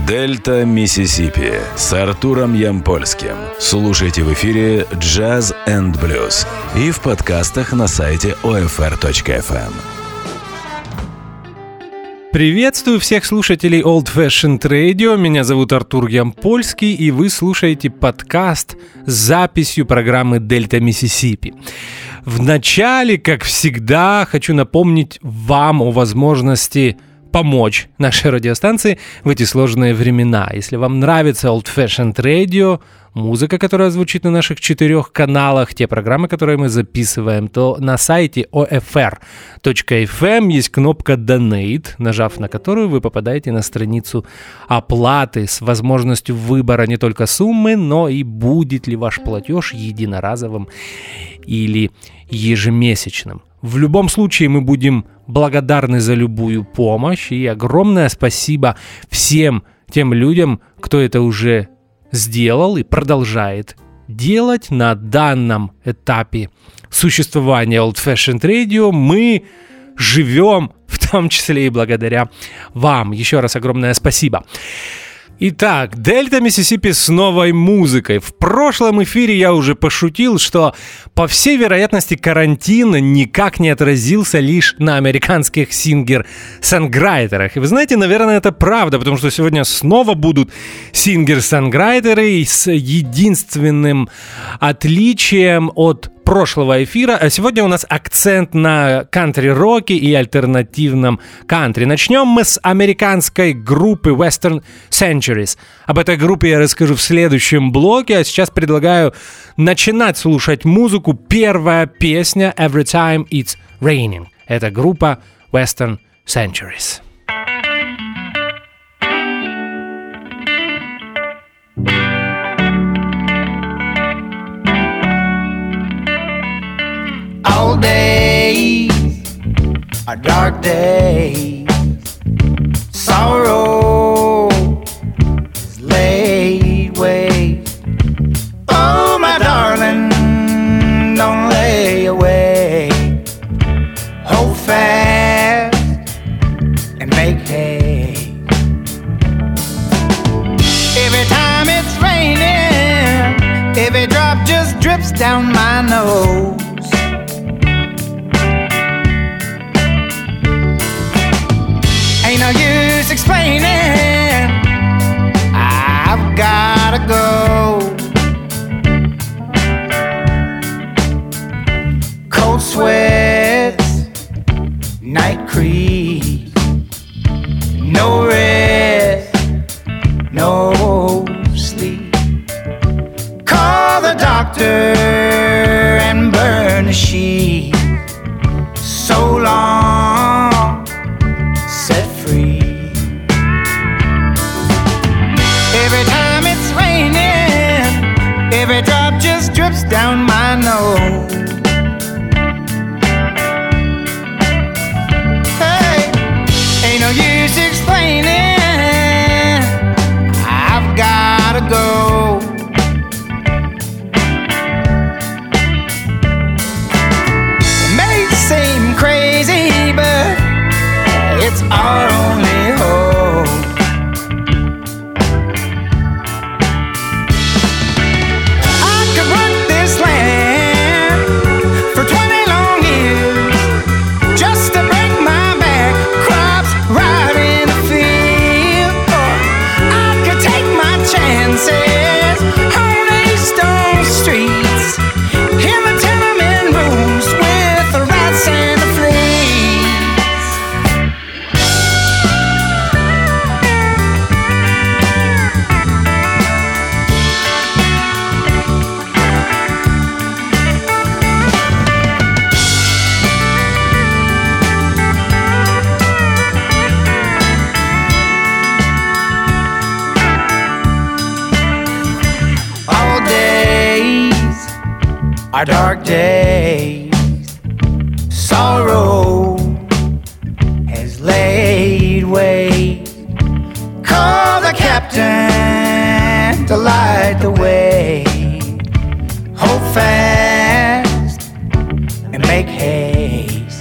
Дельта Миссисипи с Артуром Ямпольским. Слушайте в эфире Jazz and Blues и в подкастах на сайте OFR.FM. Приветствую всех слушателей Old Fashioned Radio. Меня зовут Артур Ямпольский, и вы слушаете подкаст с записью программы Дельта Миссисипи. В начале, как всегда, хочу напомнить вам о возможности помочь нашей радиостанции в эти сложные времена. Если вам нравится Old Fashioned Radio, музыка, которая звучит на наших 4 каналах, те программы, которые мы записываем, то на сайте OFR.FM есть кнопка Donate, нажав на которую вы попадаете на страницу оплаты с возможностью выбора не только суммы, но и будет ли ваш платеж единоразовым или ежемесячным. В любом случае мы будем благодарны за любую помощь, и огромное спасибо всем тем людям, кто это уже сделал и продолжает делать. На данном этапе существования Old Fashioned Radio мы живем, в том числе и благодаря вам. Еще раз огромное спасибо. Итак, Дельта Миссисипи с новой музыкой. В прошлом эфире я уже пошутил, что, по всей вероятности, карантин никак не отразился лишь на американских сингер-санграйтерах. И вы знаете, наверное, это правда, потому что сегодня снова будут сингер-санграйтеры с единственным отличием от прошлого эфира. А сегодня у нас акцент на кантри-роке и альтернативном кантри. Начнем мы с американской группы Western Centuries. Об этой группе я расскажу в следующем блоке, а сейчас предлагаю начинать слушать музыку. Первая песня «Every Time It's Raining». Это группа Western Centuries. All days are dark days. Sorrow is laid waste. Oh, my darling, don't lay away. Hold fast and make hay. Every time it's raining, every drop just drips down my nose. Ain't no use explaining, I've gotta go. Cold sweats, night creeps, no rest, no sleep. Call the doctor and burn the sheet. So long set free. Every time it's raining, every drop just drips down my nose. Hey, ain't no use explaining, I've gotta go. It may seem crazy, but it's our only hope. I could work this land for 20 long years just to break my back, crops right in the field. Or I could take my chances on these stone streets, in the tenement rooms with the rats and the fleas. All days are dark days. Sorrow has laid waste. Call the captain to light the way. Hold fast and make haste.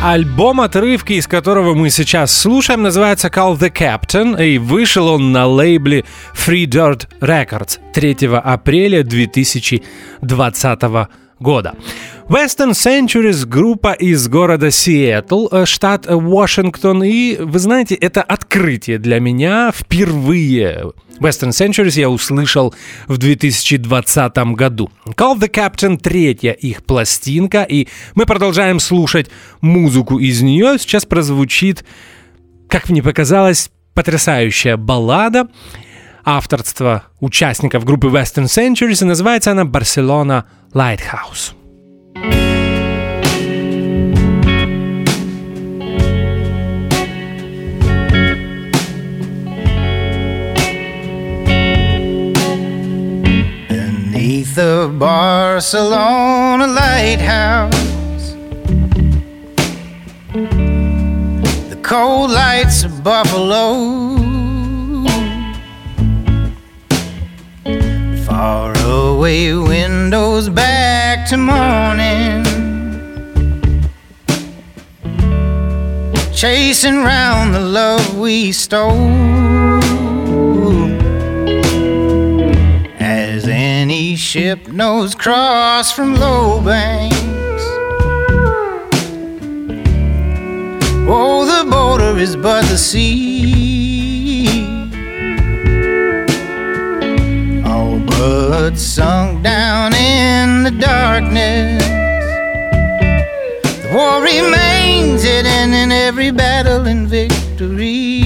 Альбом, отрывки из которого мы сейчас слушаем, называется Call the Captain, и вышел он на лейбле Free Dirt Records 3 апреля 2020 года. Western Centuries — группа из города Сиэтл, штат Вашингтон, и, вы знаете, это открытие для меня. Впервые Western Centuries я услышал в 2020 году. Call the Captain — 3-я их пластинка, и мы продолжаем слушать музыку из нее. Сейчас прозвучит, как мне показалось, потрясающая баллада авторства участников группы Western Centuries, и называется она «Barcelona Lighthouse». Beneath the Barcelona lighthouse, the cold lights of Buffalo, far away windows back to morning, chasing round the love we stole. As any ship knows cross from low banks, oh, the border is but the sea, all but sunk down in the darkness. The war remains hidden in every battle and victory.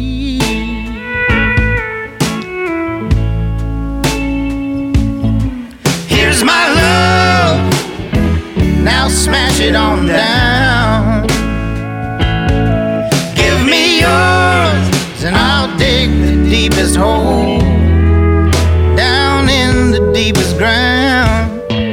Here's my love, now smash it on down. Give me yours and I'll dig the deepest hole down in the deepest ground.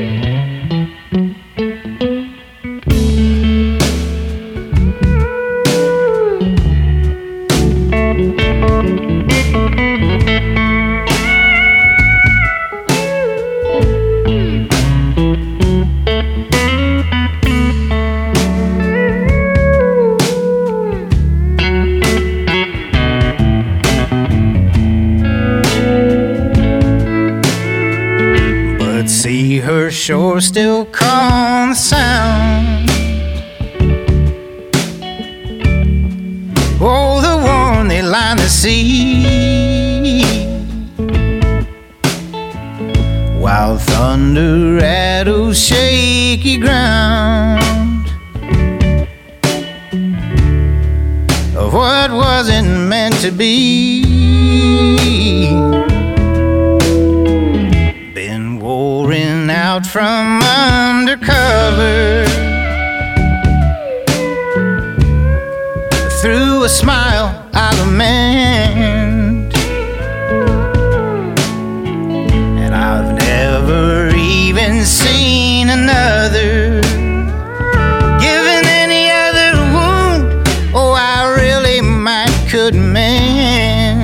Her shore still calm the sound. Oh, the warm they line the sea, while thunder rattles shaky ground of what wasn't meant to be. Out from undercover, through a smile I lament, and I've never even seen another given any other wound. Oh, I really might could mend.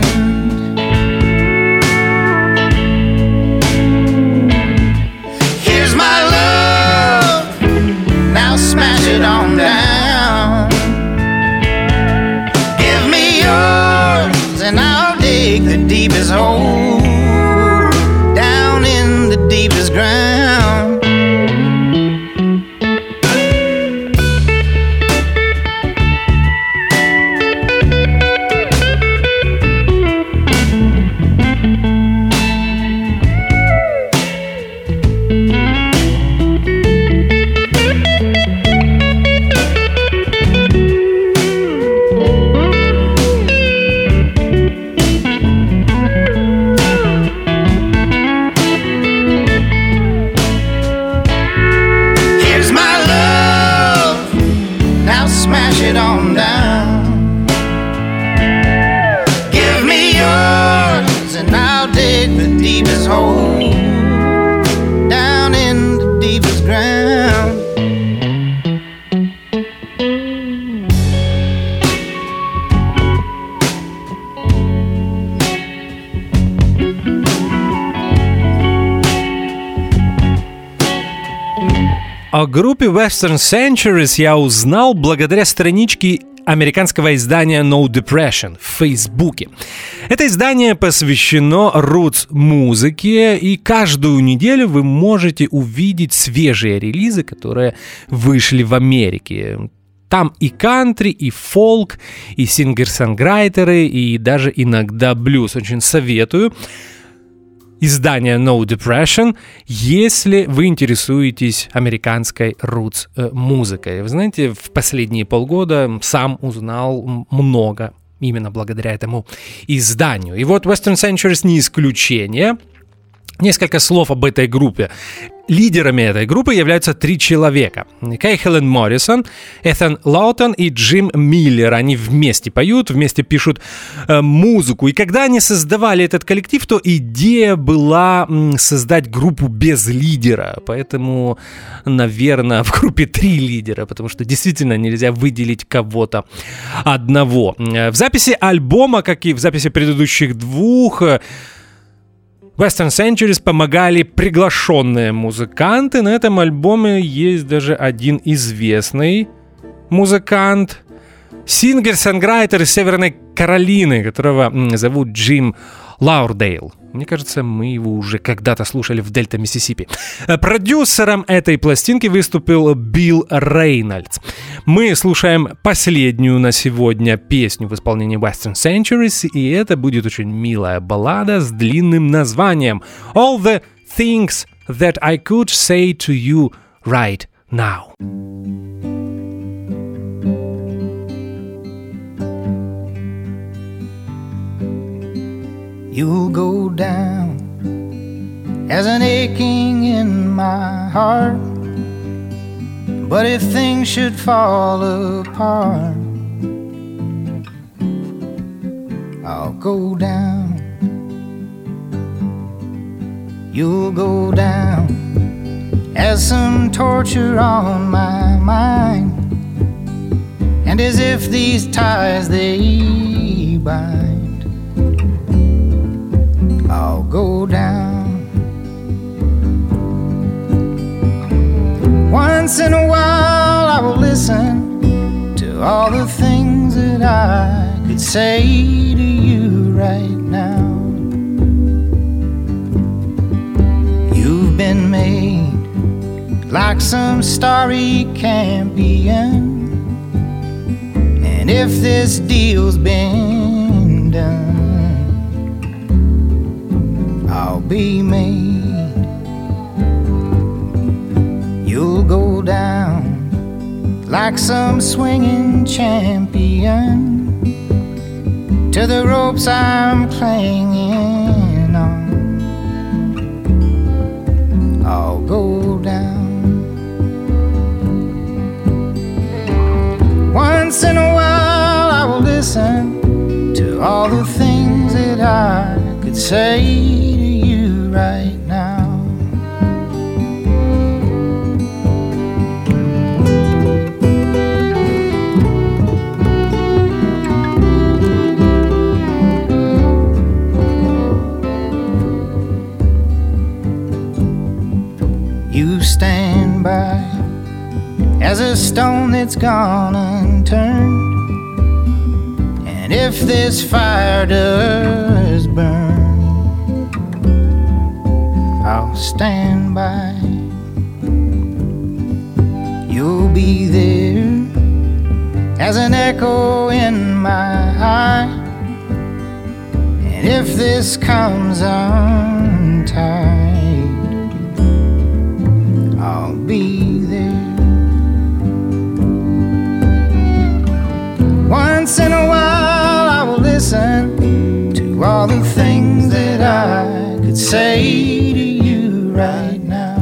Smash it on down. Give me yours and I'll dig the deepest hole down in the deepest ground. О группе Western Centuries я узнал благодаря страничке американского издания No Depression в Фейсбуке. Это издание посвящено рутс-музыке, и каждую неделю вы можете увидеть свежие релизы, которые вышли в Америке. Там и кантри, и фолк, и сингер-сонграйтеры, и даже иногда блюз. Очень советую издание No Depression, если вы интересуетесь американской рутс-музыкой. Вы знаете, в последние полгода сам узнал много именно благодаря этому изданию. И вот Western Centuries не исключение. Несколько слов об этой группе. Лидерами этой группы являются 3 человека. Кейхелен Моррисон, Этhan Лаутон и Джим Миллер. Они вместе поют, вместе пишут музыку. И когда они создавали этот коллектив, то идея была создать группу без лидера. Поэтому, наверное, в группе 3 лидера, потому что действительно нельзя выделить кого-то одного. В записи альбома, как и в записи предыдущих 2, Western Centuries помогали приглашенные музыканты. На этом альбоме есть даже один известный музыкант, сингер-сонграйтер из Северной Каролины, которого зовут Джим Лаурдейл. Мне кажется, мы его уже когда-то слушали в Дельта, Миссисипи. Продюсером этой пластинки выступил Билл Рейнольдс. Мы слушаем последнюю на сегодня песню в исполнении Western Centuries, и это будет очень милая баллада с длинным названием All the Things That I Could Say to You Right Now. You'll go down as an aching in my heart. But if things should fall apart, I'll go down. You'll go down as some torture on my mind, and as if these ties they bind, I'll go down. Once in a while I will listen to all the things that I could say to you right now. You've been made like some starry champion, and if this deal's been done, I'll be made. You'll go down like some swinging champion to the ropes I'm clinging on. I'll go down. Once in a while I will listen to all the things that I could say to you right now. You stand by as a stone that's gone unturned, and if this fire does burn, I'll stand by. You'll be there as an echo in my eye, and if this comes untied, I'll be there. Once in a while I will listen to all the things that I could say to you right now.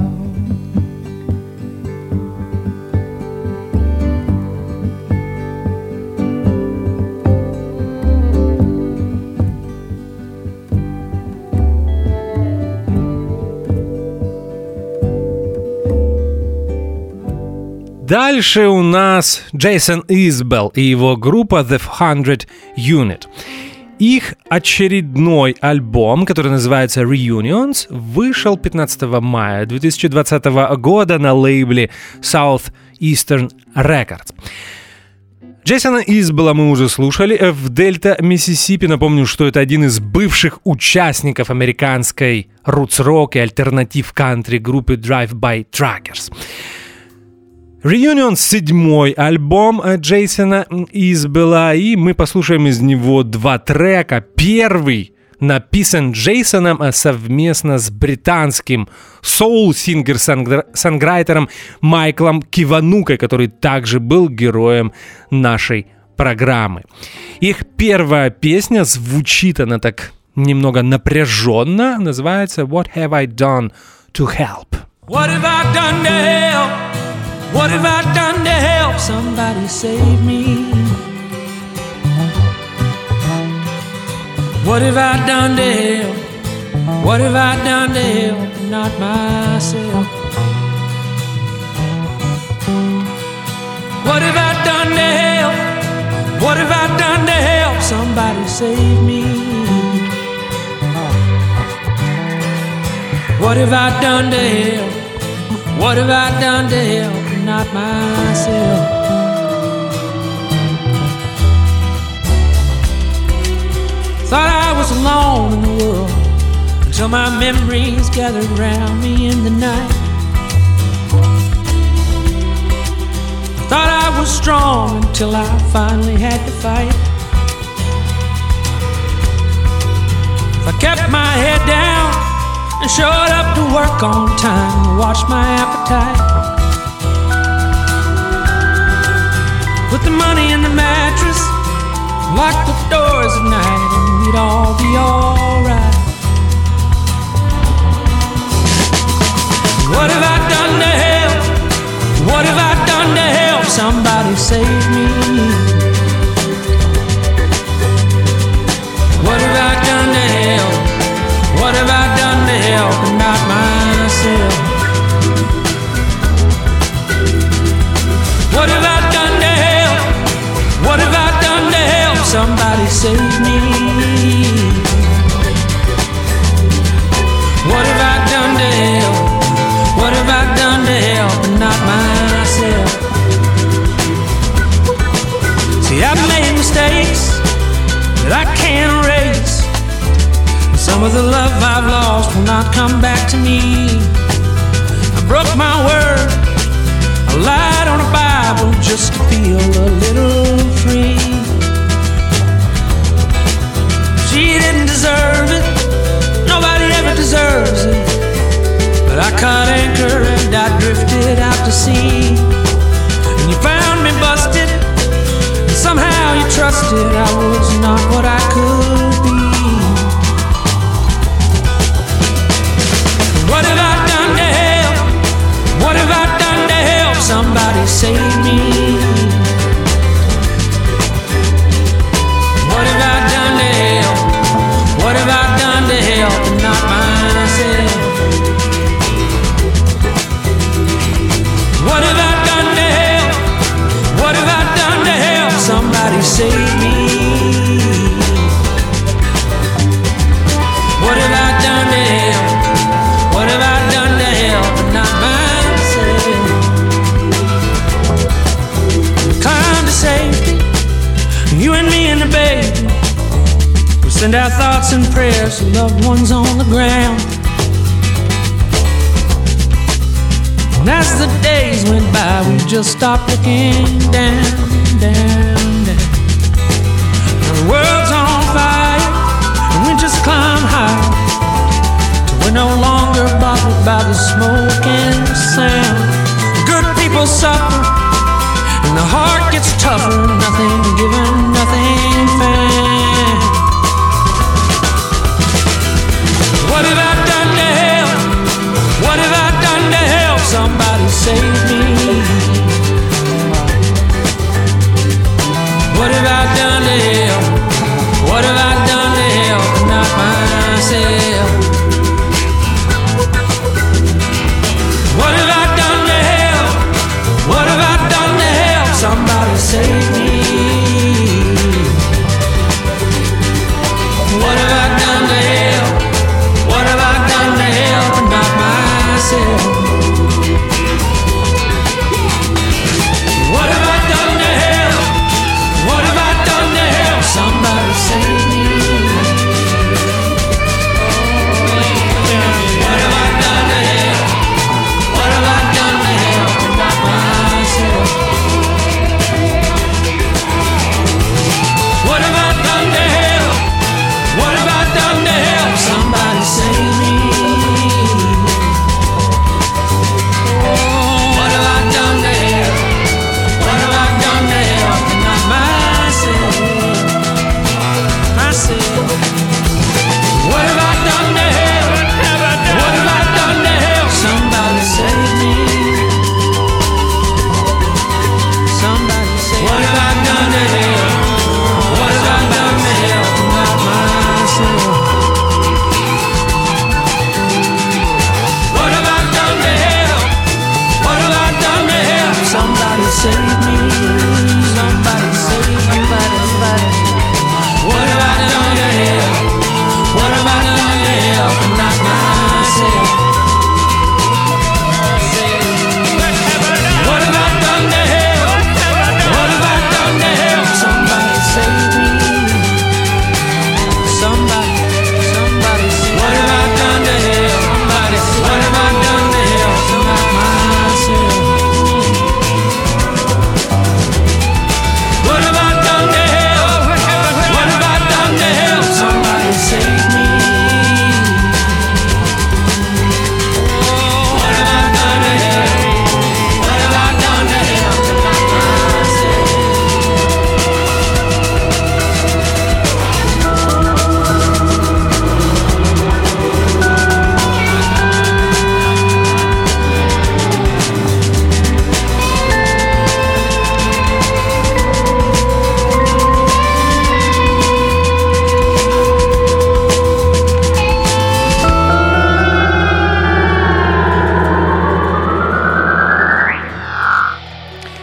Дальше у нас Джейсон Избелл и его группа The 100 Unit. Их очередной альбом, который называется Reunions, вышел 15 мая 2020 года на лейбле Southeastern Records. Джейсона Избела мы уже слушали в Дельта, Миссисипи. Напомню, что это один из бывших участников американской рутс-рок и альтернатив-кантри группы Drive-By Truckers. Reunion — 7-й альбом Джейсона Избела, и мы послушаем из него 2 трека. Первый написан Джейсоном совместно с британским соул-сингер-санграйтером Майклом Киванукой, который также был героем нашей программы. Их первая песня, звучит она так немного напряженно, называется «What have I done to help?» What have I done to help? What have I done to help somebody save me? What have I done to help? What have I done to help? Not myself. What have I done to help? What have I done to help somebody save me? What have I done to help? What have I done to help? Not myself. Thought I was alone in the world until my memories gathered around me in the night. Thought I was strong until I finally had to fight. If I kept my head down and showed up to work on time to watch my appetite, put the money in the mattress, lock the doors at night, and we'd all be alright. What have I done to help? What have I done to help somebody save me? What have I done to help? What have I done to help and not myself? What have I done to help? What have I done to help somebody save me? What have I done to help? What have I done to help and not myself? See, I've made mistakes that I can't erase. Some of the love I've lost will not come back to me. I broke my word, I lied on a Bible just to feel a little free. She didn't deserve it, nobody ever deserves it. But I caught anchor and I drifted out to sea. And you found me busted, and somehow you trusted I was not what I could be. What have I done to help? What have I done to help somebody save me? What have I done to help? What have I done to help and not myself? What have I done to help? What have I done to help somebody save me? What have I done to help? What have I done to help but not myself? Climb to safety, you and me and the baby. We send our thoughts and prayers to loved ones on the ground. And as the days went by, we just stopped looking down, down, down. Now the world's on fire, and we just climb higher. We're no longer bothered by the smoke and the sound. Good people suffer, and the heart gets tougher. Nothing given, nothing found. What have I done to help? What have I done to help somebody save me? What have I done to help? What have I done to help and not myself? What have I done to help? What have I done to help somebody save me?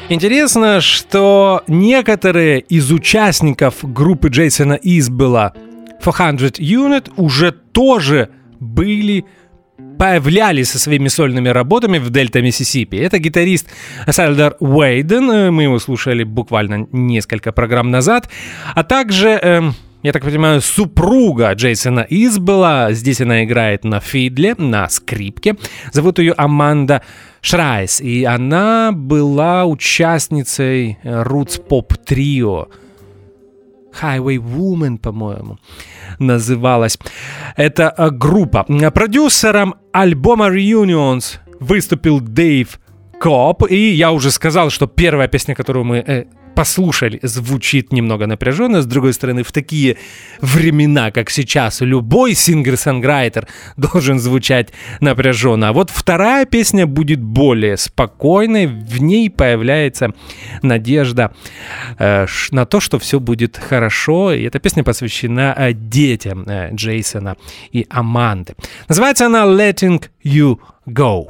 Интересно, что некоторые из участников группы Джейсона Избела 400 Unit уже тоже появлялись со своими сольными работами в Дельта Миссисипи. Это гитарист Сальдар Уэйден, мы его слушали буквально несколько программ назад, а также, я так понимаю, супруга Джейсона Избела. Здесь она играет на фидле, на скрипке. Зовут ее Аманда Шрайс, и она была участницей рутс-поп-трио Highway Woman, по-моему, называлась эта группа. Продюсером альбома Reunions выступил Дэйв Коп, и я уже сказал, что первая песня, которую мы послушали, звучит немного напряженно. С другой стороны, в такие времена, как сейчас, любой сингер-сонграйтер должен звучать напряженно. А вот вторая песня будет более спокойной. В ней появляется надежда на то, что все будет хорошо. И эта песня посвящена детям Джейсона и Аманды. Называется она «Letting You Go».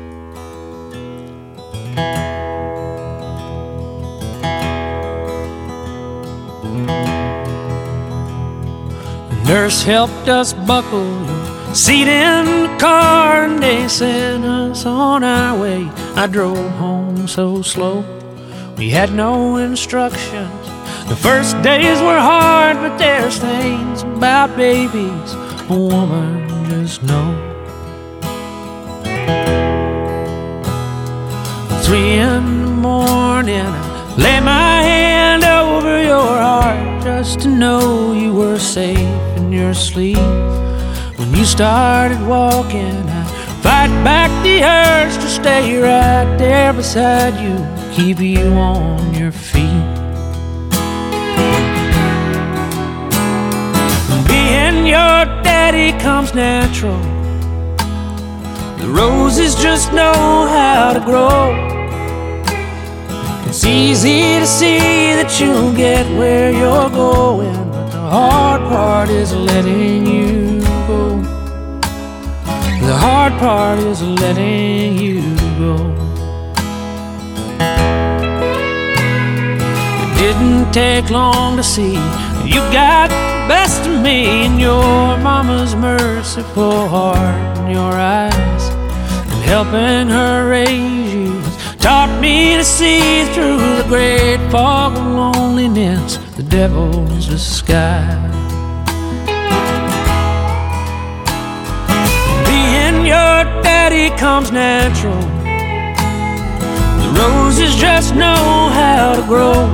Nurse helped us buckle your seat in the car, and they sent us on our way. I drove home so slow, we had no instructions. The first days were hard, but there's things about babies a woman just knows. 3 in the morning, I lay my hand over your heart just to know you were safe in your sleep. When you started walking, I fight back the urge to stay right there beside you, keep you on your feet. Being your daddy comes natural. The roses just know how to grow. It's easy to see that you'll get where you're going, but the hard part is letting you go. The hard part is letting you go. It didn't take long to see you got the best of me in your mama's merciful heart and your eyes, and helping her raise you taught me to see through the great fog of loneliness, the devil's disguise. Being your daddy comes natural. The roses just know how to grow.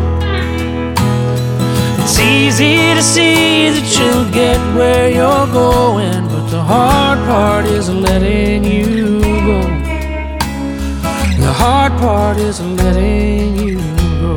It's easy to see that you'll get where you're going, but the hard part is letting you go. The hard part is letting you go.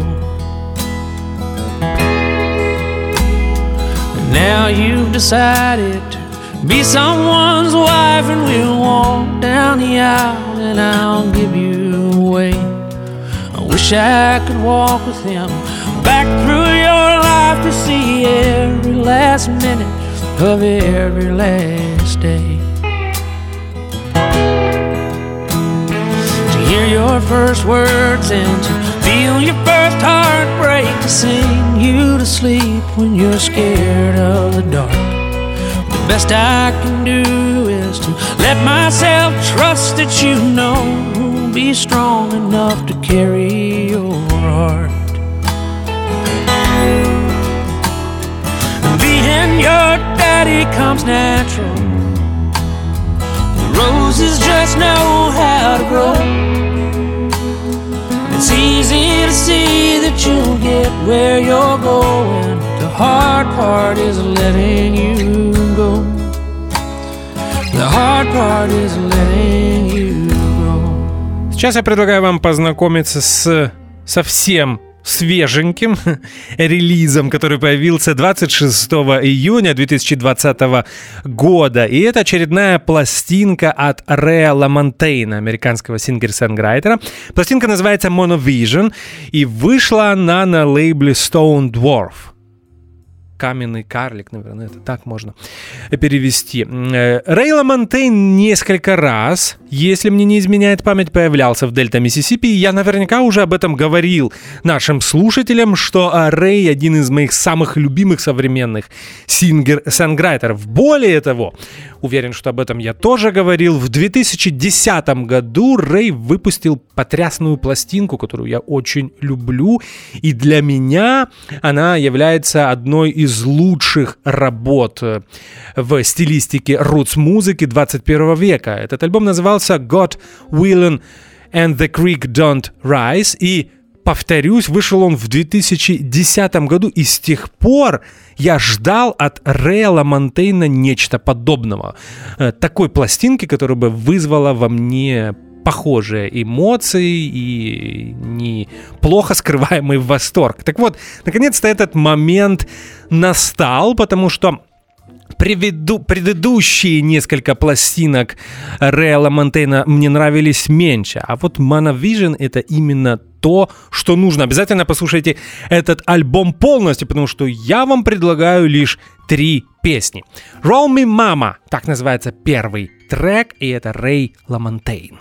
And now you've decided to be someone's wife, and we'll walk down the aisle and I'll give you away. I wish I could walk with him back through your life to see every last minute of every last day. Hear your first words and to feel your first heartbreak, to sing you to sleep when you're scared of the dark. The best I can do is to let myself trust that you know who'll be strong enough to carry your heart. Being your daddy comes natural. The roses just know how to grow. It's easy to see that you'll get where you're going. The hard part is letting you go. The hard part is letting you go. Сейчас я предлагаю вам познакомиться с совсем свеженьким релизом, который появился 26 июня 2020 года. И это очередная пластинка от Рэя Ламонтейна, американского сингер-сонграйтера. Пластинка называется Monovision, и вышла она на лейбле Stone Dwarf. каменный карлик, наверное, это так можно перевести. Рэй Ламонтейн несколько раз, если мне не изменяет память, появлялся в Дельта Миссисипи, и я наверняка уже об этом говорил нашим слушателям, что Рэй один из моих самых любимых современных сингер-сонграйтеров. Более того, уверен, что об этом я тоже говорил, в 2010 году Рэй выпустил потрясную пластинку, которую я очень люблю, и для меня она является одной из лучших работ в стилистике рутс-музыки 21 века. Этот альбом назывался God Willin' and the Creek Don't Rise, и, повторюсь, вышел он в 2010 году, и с тех пор я ждал от Рэя Ламонтейна нечто подобного. Такой пластинки, которая бы вызвала во мне похожие эмоции и неплохо скрываемый восторг. Так вот, наконец-то этот момент настал, потому что предыдущие несколько пластинок Рэя Ламонтейна мне нравились меньше, а вот Monovision — это именно то, что нужно. Обязательно послушайте этот альбом полностью, потому что я вам предлагаю лишь 3 песни. Roll Me Mama, так называется первый трек, и это Рэй Ламонтейн.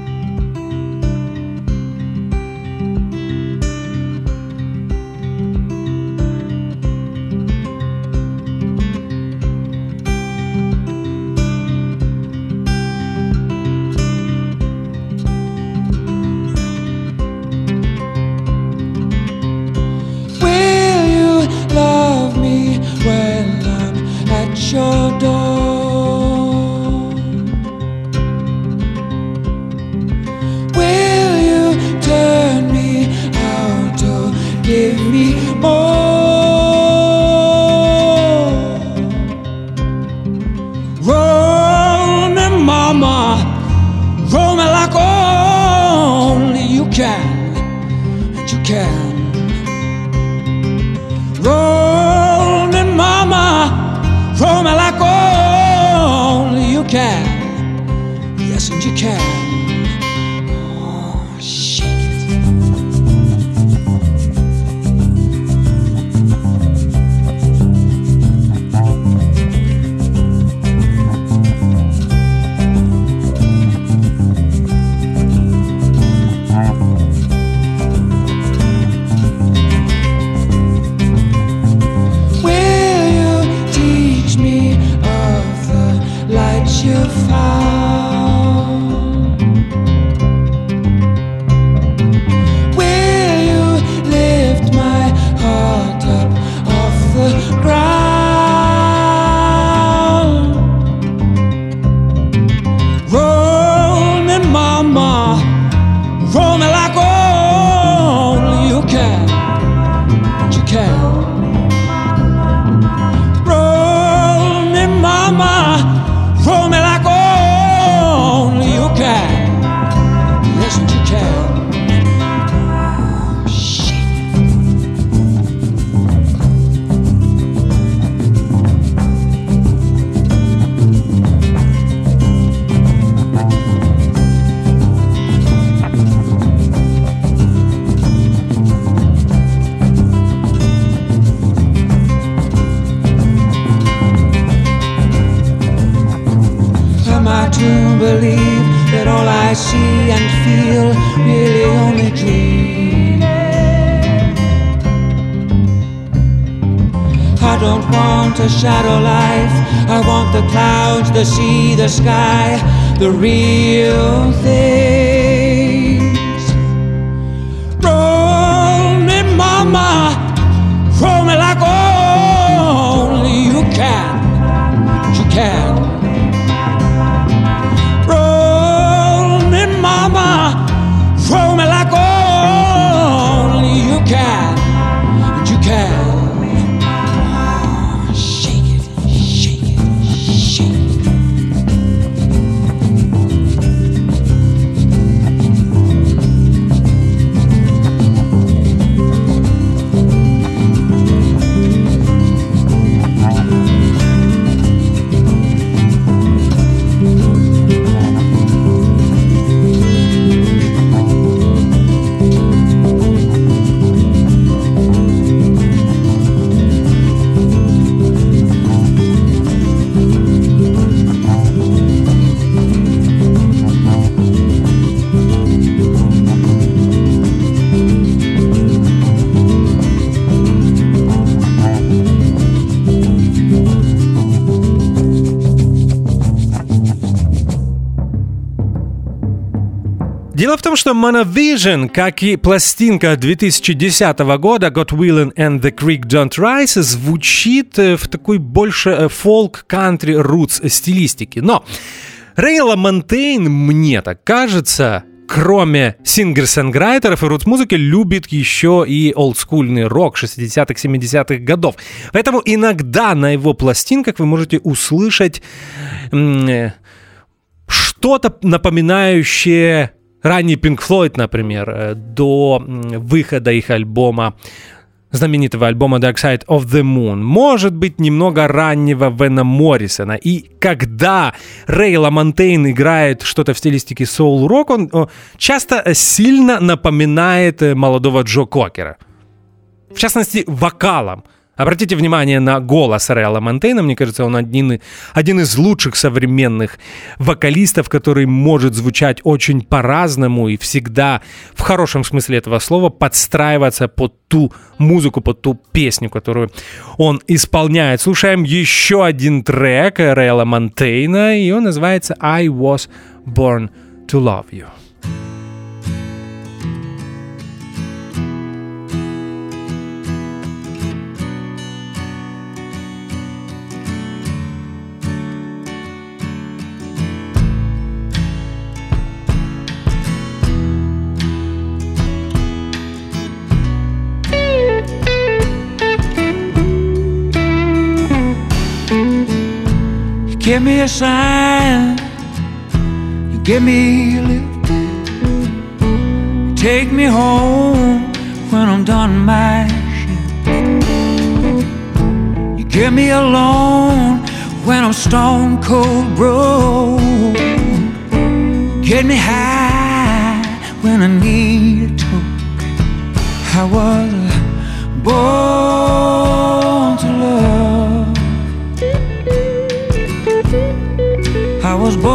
Your door. Will you turn me out or give me more? Roll me, mama, roll me like only you can, and you can. Roll me, mama, roll me like only you can. Yes, and you can. Oh, shake it. You found. Will you lift my heart up off the ground? Roll me, mama, roll me like only you can. You can. Roll me, mama, roll me like only you can. Yes, you can. Shit. To believe that all I see and feel really only dream. I don't want a shadow life, I want the clouds, the sea, the sky, the real things. Roll me, mama, roll me like only you can. You can. Mama, roll me like only you can, and you can. Oh, shake it, shake it, shake it. Дело в том, что Monovision, как и пластинка 2010 года God Willin' and the Creek Don't Rise, звучит в такой больше фолк, кантри, рутс стилистике. Но Рэй Ламонтейн, мне так кажется, кроме сингер-сонграйтеров и рутс-музыки, любит еще и олдскульный рок 60-х, 70-х годов. Поэтому иногда на его пластинках вы можете услышать что-то напоминающее ранний Pink Floyd, например, до выхода их альбома, знаменитого альбома Dark Side of the Moon. Может быть, немного раннего Вена Моррисона. И когда Рэй Ламонтейн играет что-то в стилистике соул-рок, он часто сильно напоминает молодого Джо Кокера. В частности, вокалом. Обратите внимание на голос Рэя Ламонтейна. Мне кажется, он один из лучших современных вокалистов, который может звучать очень по-разному и всегда, в хорошем смысле этого слова, подстраиваться под ту музыку, под ту песню, которую он исполняет. Слушаем еще один трек Рэя Ламонтейна, и он называется «I was born to love you». Give me a sign, you give me a lift, you take me home when I'm done my shift. You give me a loan when I'm stone cold broke. Get me high when I need a toke. I was born to love. I was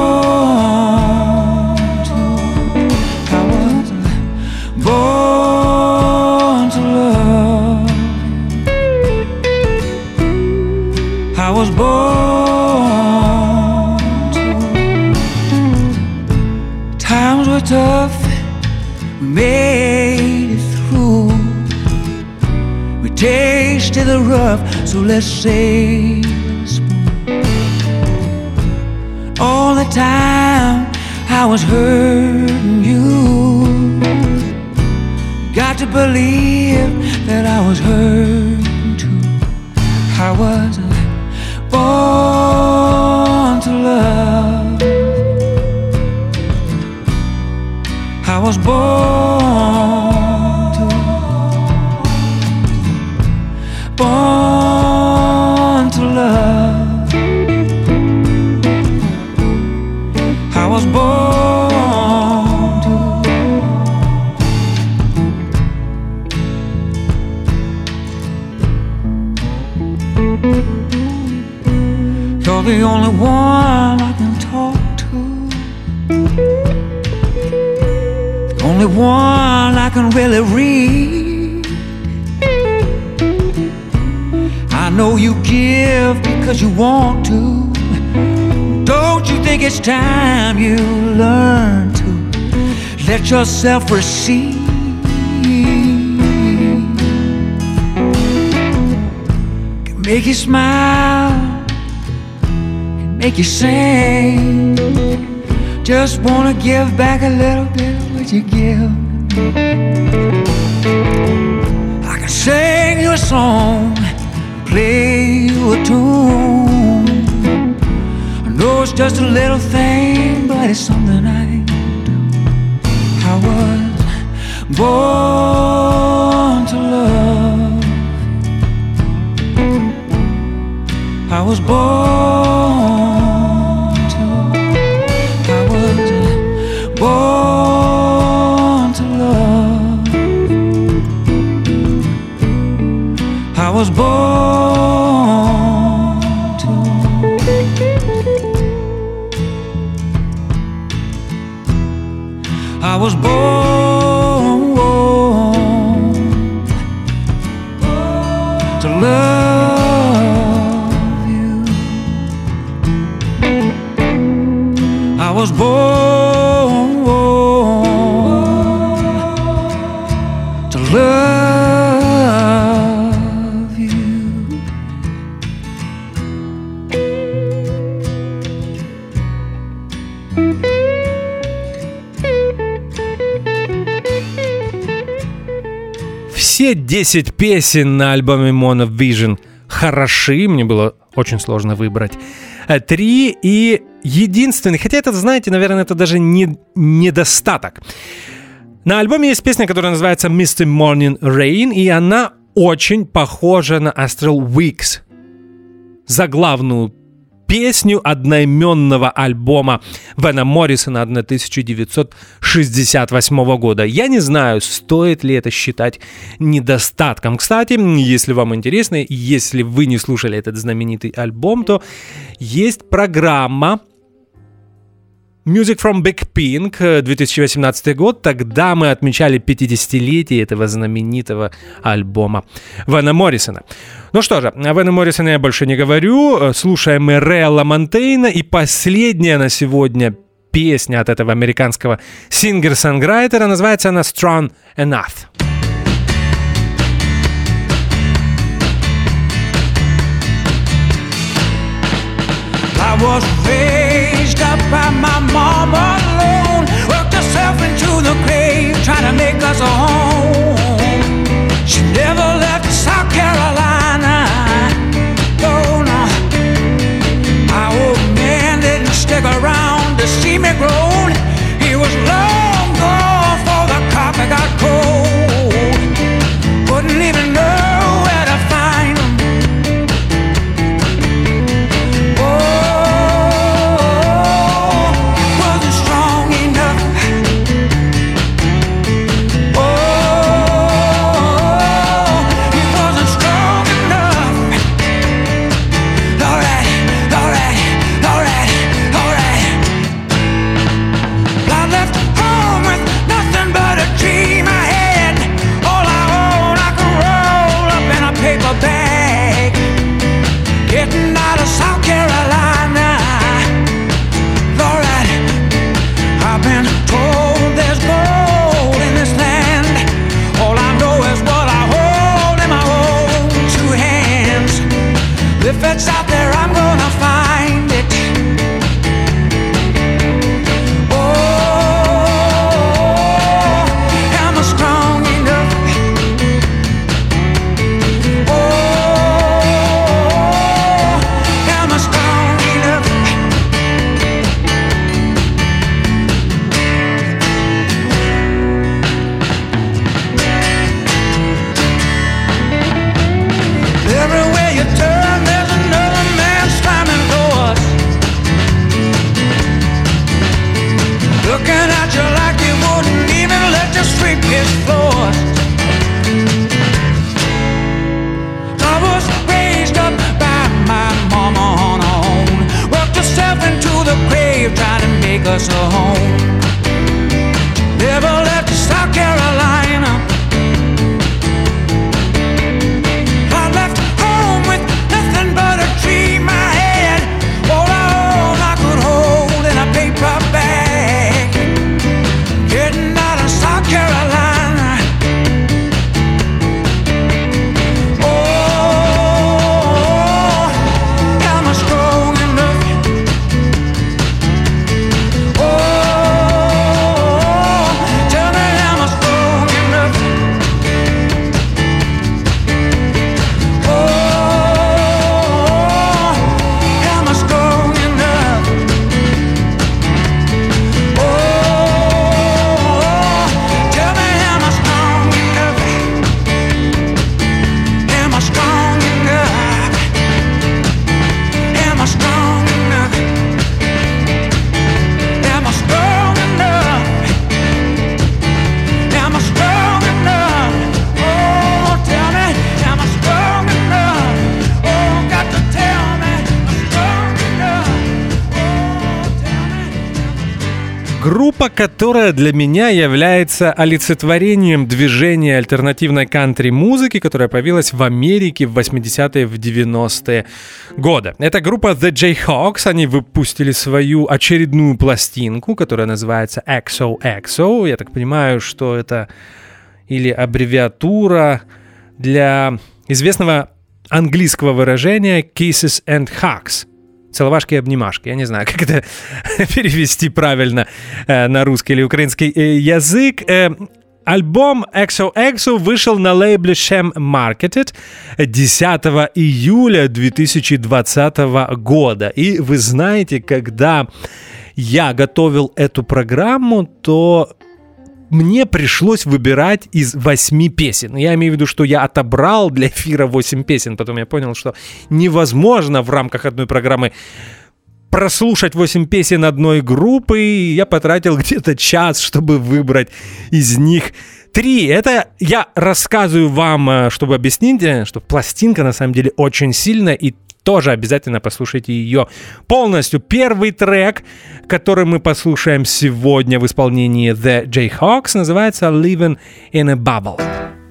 born to love. I was born to. Times were tough, we made it through. We tasted the rough, so let's say all the time I was hurting you. Got to believe that I was hurting too. I was born to love. I was born to love. I was born to. You're the only one I can talk to, the only one I can really read. I know you give because you want to. Don't you think it's time you learn to let yourself receive? Can make you smile, can make you sing. Just wanna give back a little bit of what you give. I can sing you a song, play you a tune. No, it's just a little thing, but it's something I can do. I was born to love. I was born to. I was born to love. I was born to. I was born to love you. I was born все 10 песен на альбоме Monovision хороши, мне было очень сложно выбрать 3, и единственный, хотя это, знаете, наверное, это даже не недостаток. На альбоме есть песня, которая называется Misty Morning Rain, и она очень похожа на Astral Weeks, заглавную песню одноименного альбома Вена Моррисона 1968 года. Я не знаю, стоит ли это считать недостатком. Кстати, если вам интересно, если вы не слушали этот знаменитый альбом, то есть программа Music from Big Pink 2018 год. Тогда мы отмечали 50-летие этого знаменитого альбома Вена Моррисона. Ну что же, о Вене Моррисоне я больше не говорю. Слушаем мы Рея Ламонтейна. И последняя на сегодня песня от этого американского сингер-сонграйтера. Называется она Strong Enough. I was raised up by my mama alone, worked herself into the grave, trying to make us a home. She never left South Carolina, oh no. My old man didn't stick around to see me grown. He was long gone before the coffee got cold. Wouldn't even know where to find him. If it's out there, I'm gonna find it. Oh, am I strong enough? Oh, am I strong enough? Everywhere you turn, there's another man slamming doors, looking at you like he wouldn't even let you sweep his floors. I was raised up by my mama on her own, worked herself into the grave, trying to make us a home. Never left South Carolina. Группа, которая для меня является олицетворением движения альтернативной кантри-музыки, которая появилась в Америке в 80-е, в 90-е годы. Это группа The Jayhawks. Они выпустили свою очередную пластинку, которая называется XOXO. Я так понимаю, что это или аббревиатура для известного английского выражения Kisses and Hugs. Целовашки и обнимашки. Я не знаю, как это перевести правильно на русский или украинский язык. Альбом XOXO вышел на лейбле Sham Marketed 10 июля 2020 года. И вы знаете, когда я готовил эту программу, то мне пришлось выбирать из 8 песен. Я имею в виду, что я отобрал для эфира 8 песен. Потом я понял, что невозможно в рамках одной программы прослушать 8 песен одной группы. И я потратил где-то час, чтобы выбрать из них 3. Это я рассказываю вам, чтобы объяснить, что пластинка на самом деле очень сильная, и тоже обязательно послушайте ее полностью. Первый трек, который мы послушаем сегодня в исполнении The Jayhawks, называется «Living in a Bubble».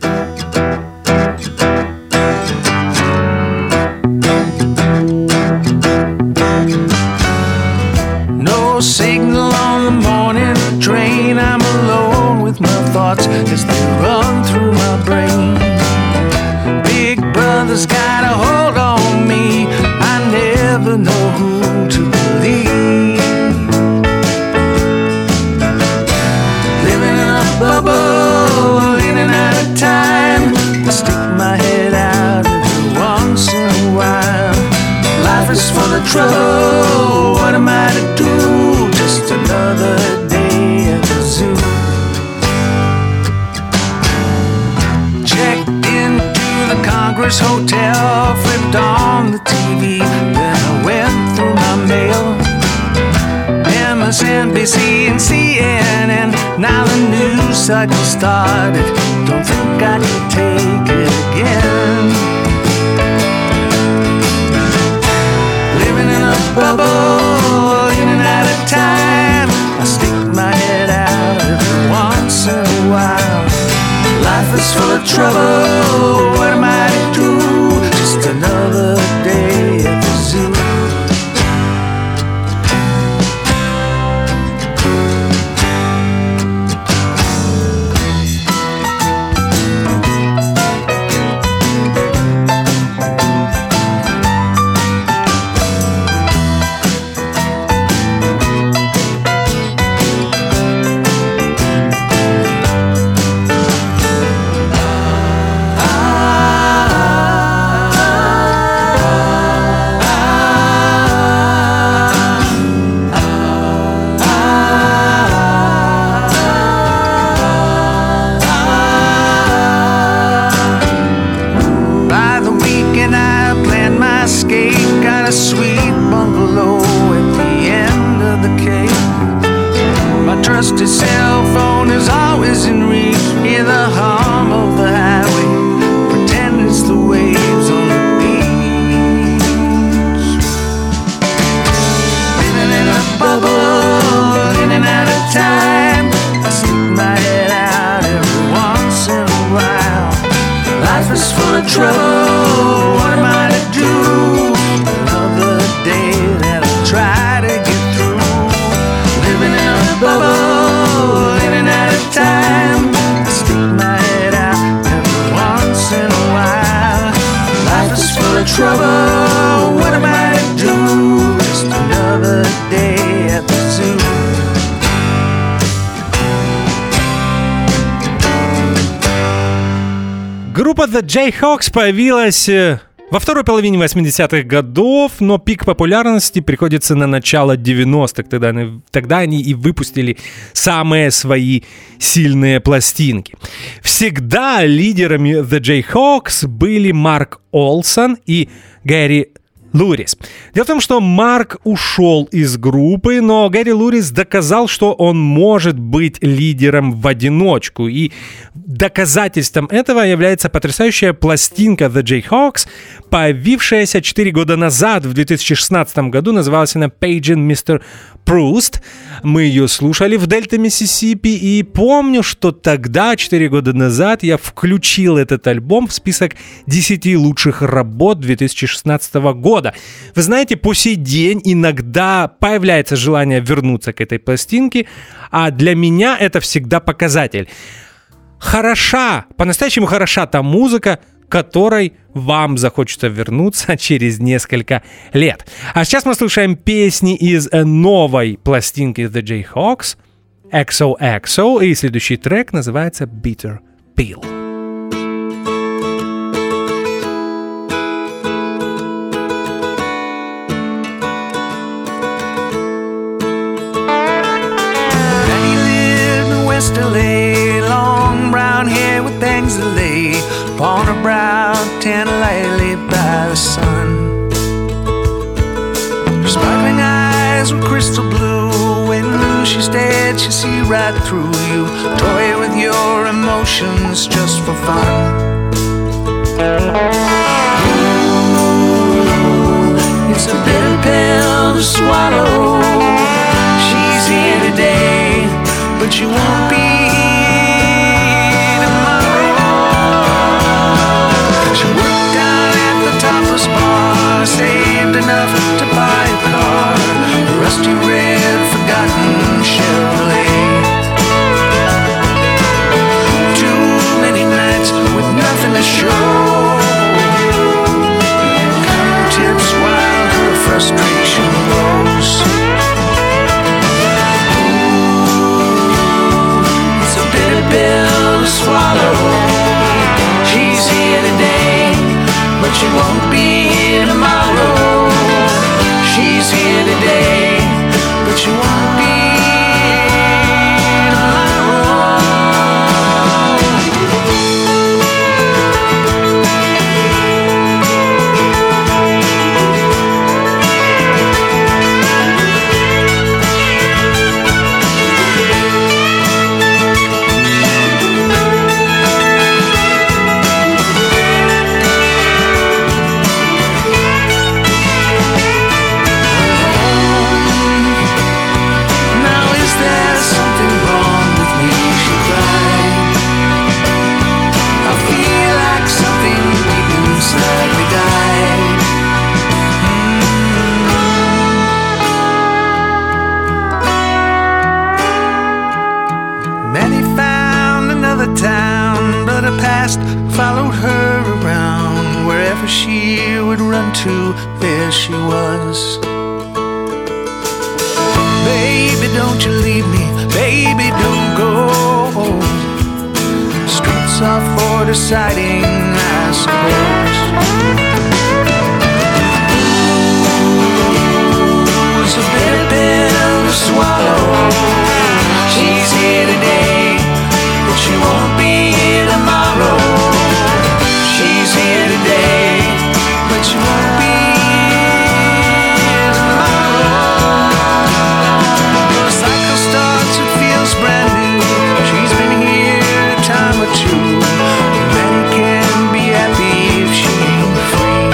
No signal on the morning train. I'm alone with my thoughts as they run through my brain. Big brother's got a hold on me. I never know who to believe. Living in a bubble, in and out of time. I stick my head out every once in a while. Life is full of trouble. What am I to do? Just another day at the zoo. Checked into the Congress Hotel, flipped on the TV, then I went through my mail. MSNBC and CNN, now the news cycle started. Don't think I can take it again. Living in a bubble, in and out of time. I stick my head out every once in a while. Life is full of trouble. What am I to do? Just another day at the zoo. A sweet bungalow at the end of the cave. My trusty cell phone is always in reach. Hear the hum of the highway, pretend it's the waves on the beach. Living in a bubble, in and out of time. I stick my head out every once in a while. Life is full of trouble. What am I to do? That I try to get through. Living in a bubble, in and out of time. I stick my head out every once in a while. Life is full of trouble. What am I to do? Just another day at the zoo. Группа The Jayhawks появилась во второй половине 80-х годов, но пик популярности приходится на начало 90-х. Тогда они и выпустили самые свои сильные пластинки. Всегда лидерами The Jayhawks были Марк Олсон и Гэри Лурис. Дело в том, что Марк ушел из группы, но Гэри Лурис доказал, что он может быть лидером в одиночку. И доказательством этого является потрясающая пластинка The Jayhawks, появившаяся 4 года назад, в 2016 году. Называлась она Paging Mr. Proust. Мы ее слушали в Дельта Миссисипи, и помню, что тогда, 4 года назад, я включил этот альбом в список 10 лучших работ 2016 года. Вы знаете, по сей день иногда появляется желание вернуться к этой пластинке, а для меня это всегда показатель. Хороша, по-настоящему хороша та музыка, которой вам захочется вернуться через несколько лет. А сейчас мы слушаем песни из новой пластинки The Jayhawks. XOXO, и следующий трек называется Bitter Pill. West LA, long brown hair with bangs that lay upon her brow, tan lightly by the sun. Her sparkling eyes were crystal blue. When she stared, she see right through you. Toy with your emotions just for fun. Ooh, it's a bitter pill to swallow. She's here today, but you won't be tomorrow. She worked down at the topless bar, saved enough to buy a car, a rusty red forgotten Chevrolet. Too many nights with nothing to show, counting tips while her frustration grows. Pill to swallow. She's here today, but she won't be here tomorrow. She's here today, but she won't be here tomorrow. Followed her around. Wherever she would run to, there she was. Baby, don't you leave me. Baby, don't go. Streets are for deciding, I suppose. Ooh, it's a bitter pill to swallow. She's here today, but she won't be here tomorrow. She's here today, but she won't be here tomorrow. The cycle starts, it feels brand new. She's been here a time or two. Many can be happy if she ain't free.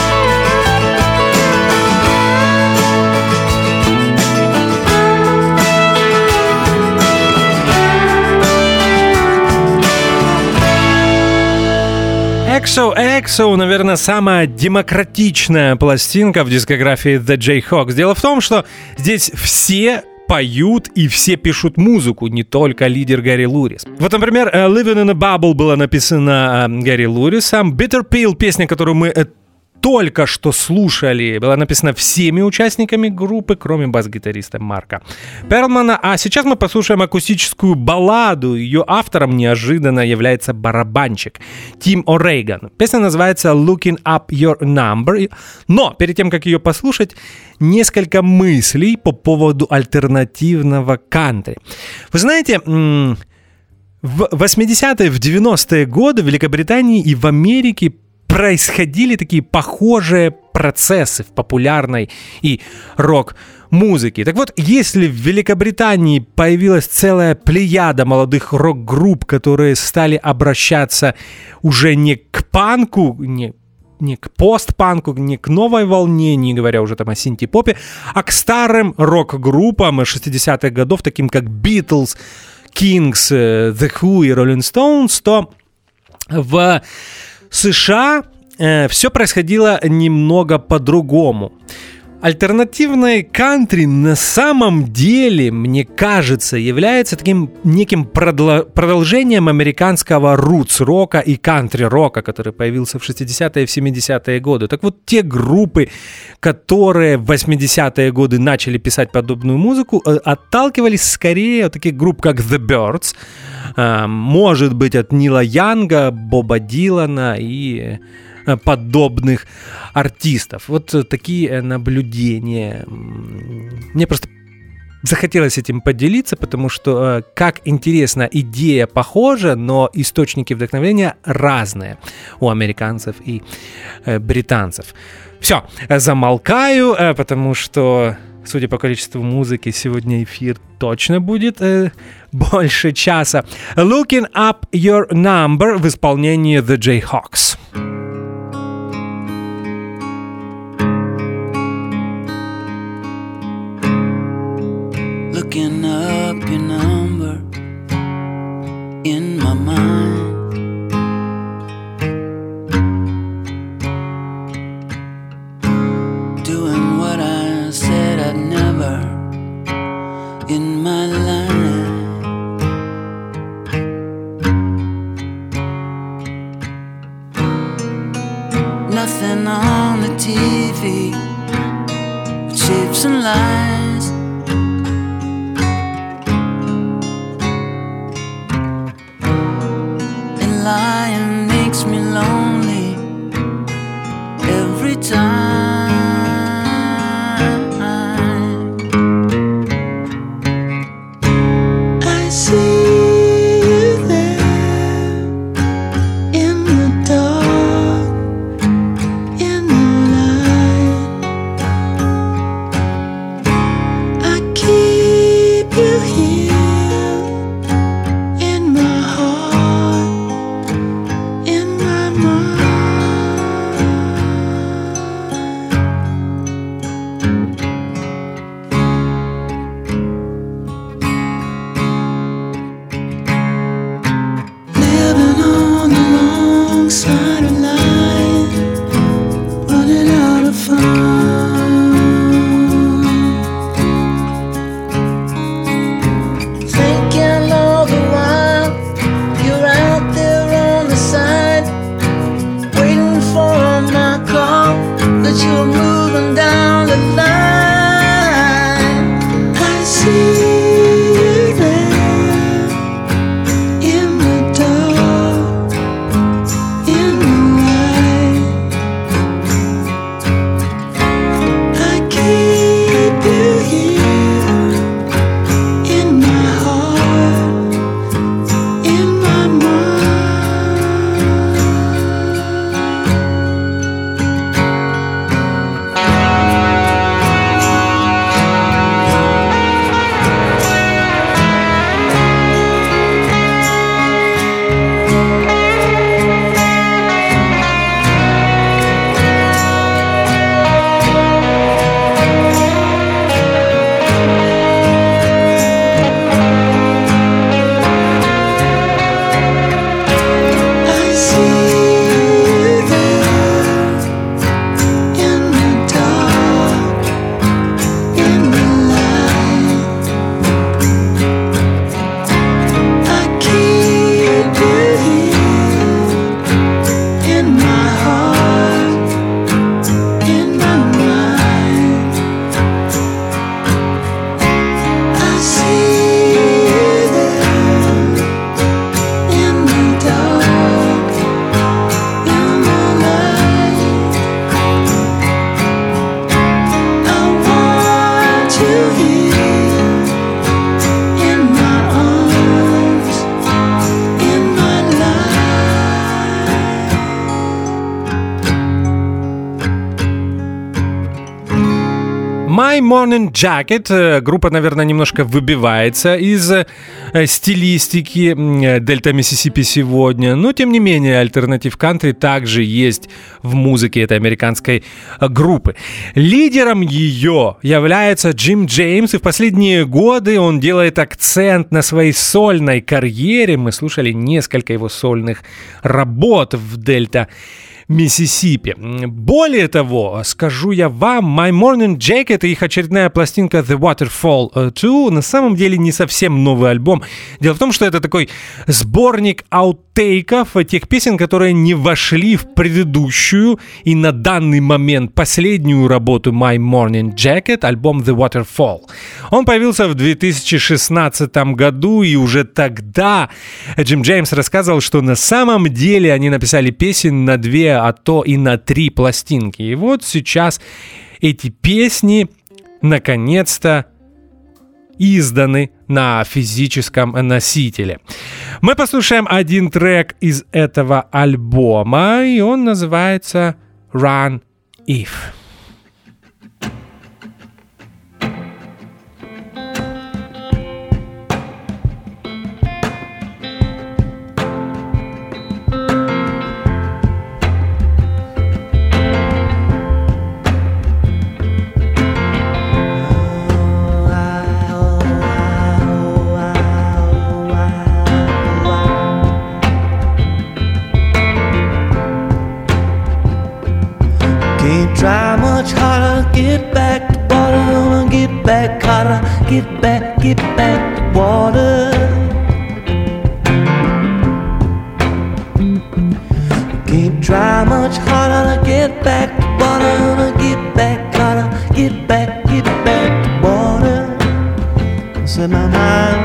XOXO, наверное, самая демократичная пластинка в дискографии The Jayhawks. Дело в том, что здесь все поют и все пишут музыку, не только лидер Гэри Лурис. Вот, например, Living in a Bubble была написана Гэри Лурисом. Bitter Pill, песня, которую мы только что слушали, была написана всеми участниками группы, кроме бас-гитариста Марка Перлмана. А сейчас мы послушаем акустическую балладу. Ее автором неожиданно является барабанщик Тим О'Рейган. Песня называется Looking Up Your Number. Но перед тем, как ее послушать, несколько мыслей по поводу альтернативного кантри. Вы знаете, в 80-е, в 90-е годы в Великобритании и в Америке происходили такие похожие процессы в популярной и рок-музыке. Так вот, если в Великобритании появилась целая плеяда молодых рок-групп, которые стали обращаться уже не к панку, не к постпанку, не к новой волне, не говоря уже там о синти-попе, а к старым рок-группам 60-х годов, таким как Beatles, Kings, The Who и Rolling Stones, то в США все происходило немного по-другому. Альтернативное кантри на самом деле, мне кажется, является таким неким продолжением американского рутс-рока и кантри-рока, который появился в 60-е и в 70-е годы. Так вот, те группы, которые в 80-е годы начали писать подобную музыку, отталкивались скорее от таких групп, как The Byrds, может быть, от Нила Янга, Боба Дилана и подобных артистов. Вот такие наблюдения. Мне просто захотелось этим поделиться, потому что, как интересно, идея похожа, но источники вдохновения разные у американцев и британцев. Все, замолкаю, потому что, судя по количеству музыки, сегодня эфир точно будет больше часа. Looking Up Your Number в исполнении The Jayhawks. Looking up your number in my mind, doing what I said I'd never in my life. Nothing on the TV but shapes and lies. Lying makes me lonely every time. I see you there in the dark, in the light. I keep you here. My Morning Jacket. Группа, наверное, немножко выбивается из стилистики Дельта Миссисипи сегодня, но, тем не менее, альтернатив кантри также есть в музыке этой американской группы. Лидером ее является Джим Джеймс, и в последние годы он делает акцент на своей сольной карьере. Мы слушали несколько его сольных работ в Дельта Миссисипи. Более того, скажу я вам, My Morning Jacket и их очередная пластинка The Waterfall 2 на самом деле не совсем новый альбом. Дело в том, что это такой сборник аутейков, тех песен, которые не вошли в предыдущую и на данный момент последнюю работу My Morning Jacket, альбом The Waterfall. Он появился в 2016 году, и уже тогда Джим Джеймс рассказывал, что на самом деле они написали песен на 2, а то и на 3 пластинки. И вот сейчас эти песни наконец-то изданы на физическом носителе. Мы послушаем один трек из этого альбома, и он называется Run If. Try much harder, get back to water, get back harder, get back to water. Can't try much harder to get back to water, get back harder, get back to water. Set my mind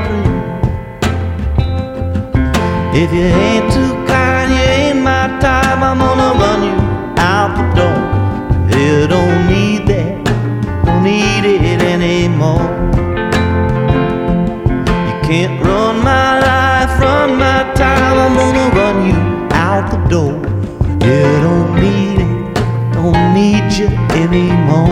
free. If you ain't too kind, you ain't my type, I'm gonna run you out the door. You don't need that, don't need it anymore. You can't run my life, run my time, I'm gonna run you out the door. You don't need it, don't need you anymore.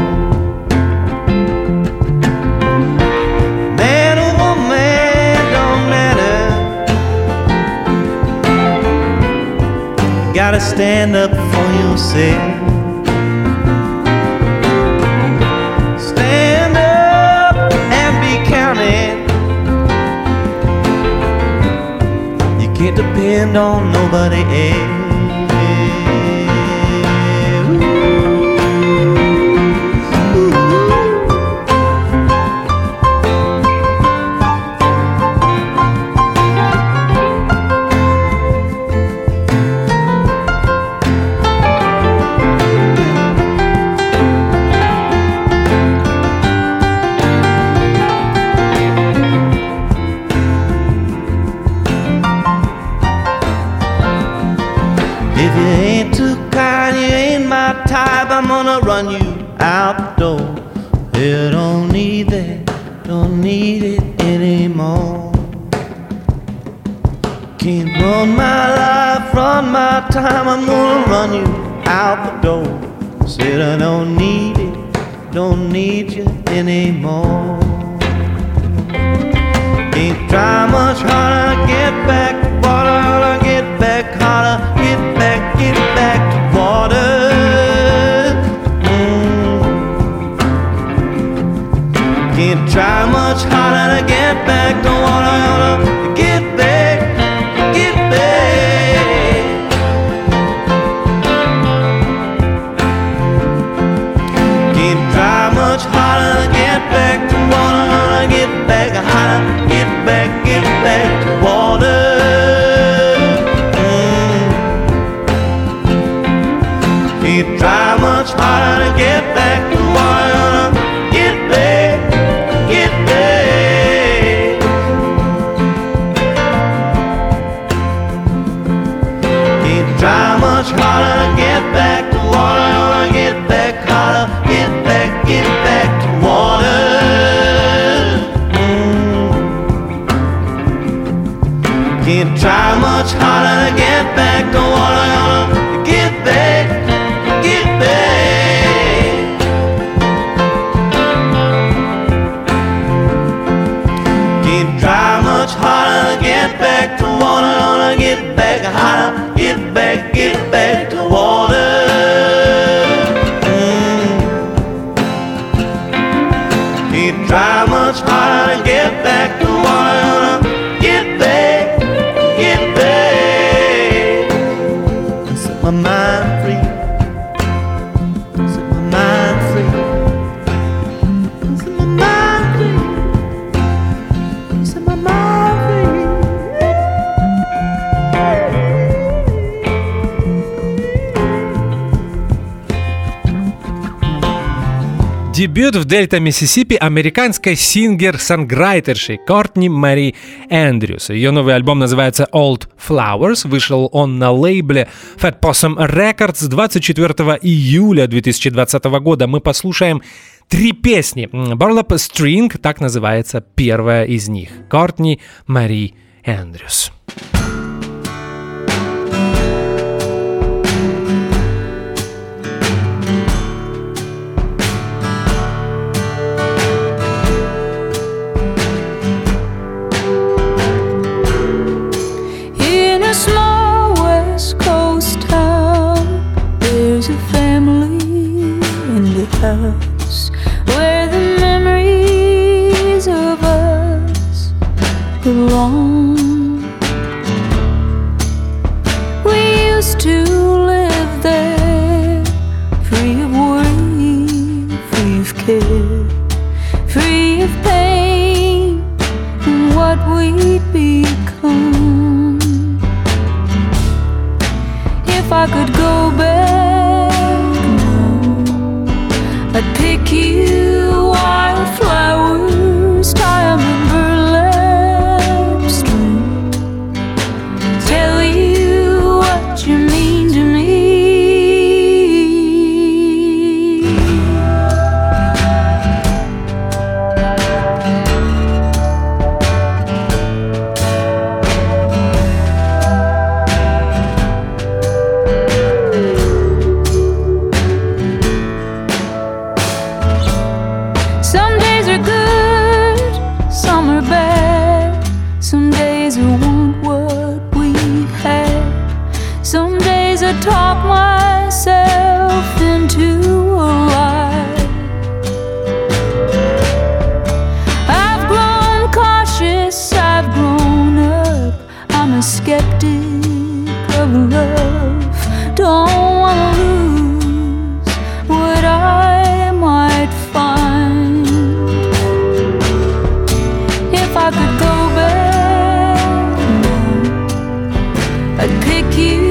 Man or woman, don't matter. You gotta stand up for yourself. Can't depend on nobody else. I'm gonna run you out the door. You don't need that, don't need it anymore. Can't run my life, run my time, I'm gonna run you out the door. Said I don't need it, don't need you anymore. Can't try much harder to get back to water, get back harder, get back to water. Can't try much harder to get back to water, get back. Can't try much harder to get back to water, get back harder, get back to water. Can't try much harder to get back to water, get back. Try much harder to get back to water, get back harder, get back to water. Can't try much harder to get back to water, get back. Can't try much harder to get back to water, get back harder. Get back to water. Can't try much harder to get back to water. Get back. Set my mind free. Дебют в Дельта Миссисипи американской сингер-санграйтерши Кортни Мэри Эндрюс. Ее новый альбом называется Old Flowers. Вышел он на лейбле Fat Possum Records 24 июля 2020 года. Мы послушаем 3 песни. Burlap String, так называется первая из них. Кортни Мэри Эндрюс. House where the memories of us belong. We used to live there, free of worry, free of care, free of pain, and what we'd become. If I could go back, I'd pick you wildflowers, tie 'em in burlap string, tell you what you mean to me. Talk myself into a lie. I've grown cautious, I've grown up. I'm a skeptic of love. Don't wanna lose what I might find. If I could go back, I'd pick you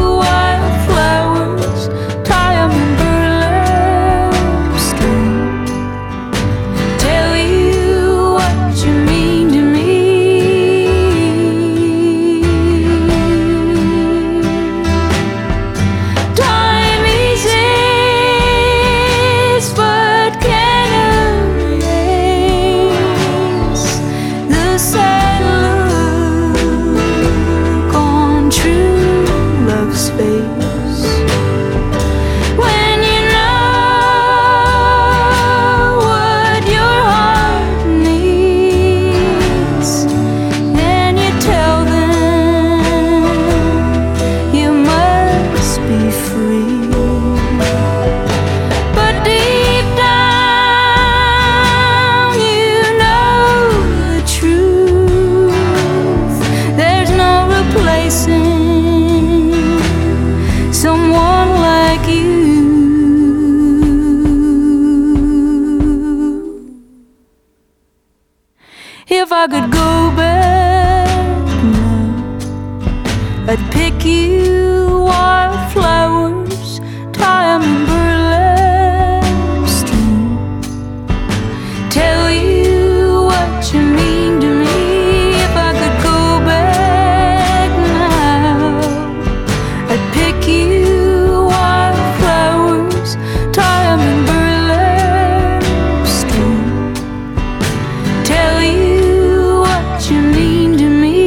if I could go back now, I'd pick you wildflowers, tie 'em in burlap string, tell you what you mean to me. If I could go back now, I'd pick you wildflowers, tie 'em in burlap string, tell you you mean to me.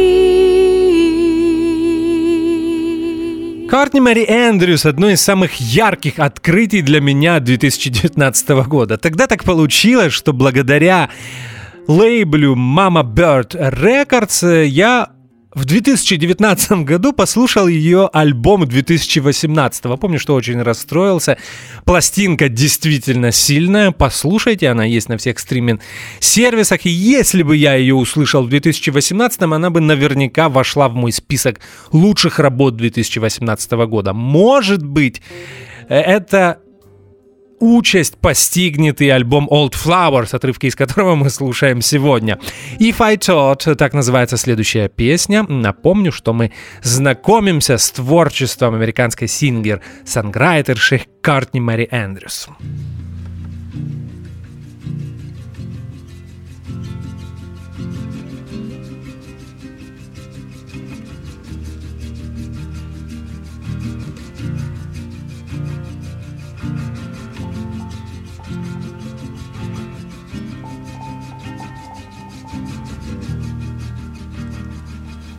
Кортни Мэри Эндрюс — одно из самых ярких открытий для меня 2019 года. Тогда так получилось, что благодаря лейблю Mama Bird Records я в 2019 году послушал ее альбом 2018. Помню, что очень расстроился. Пластинка действительно сильная. Послушайте, она есть на всех стриминг-сервисах. И если бы я ее услышал в 2018, она бы наверняка вошла в мой список лучших работ 2018 года. Может быть, это участь постигнет и альбом Old Flowers, отрывки из которого мы слушаем сегодня. If I Thought, так называется следующая песня. Напомню, что мы знакомимся с творчеством американской сингер-санграйтерши Кортни Мэри Эндрюс.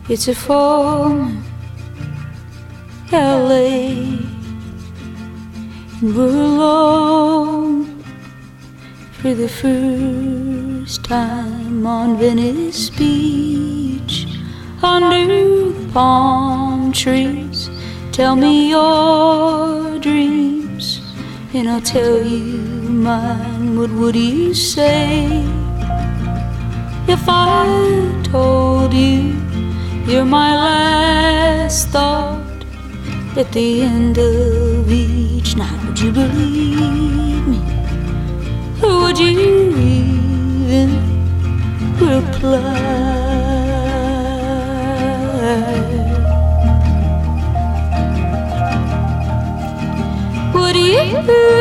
It's a former LA, and we're alone for the first time on Venice Beach under the palm trees. Tell me your dreams and I'll tell you mine. What would you say if I told you you're my last thought at the end of each night? Would you believe me? Or would you even reply? Would you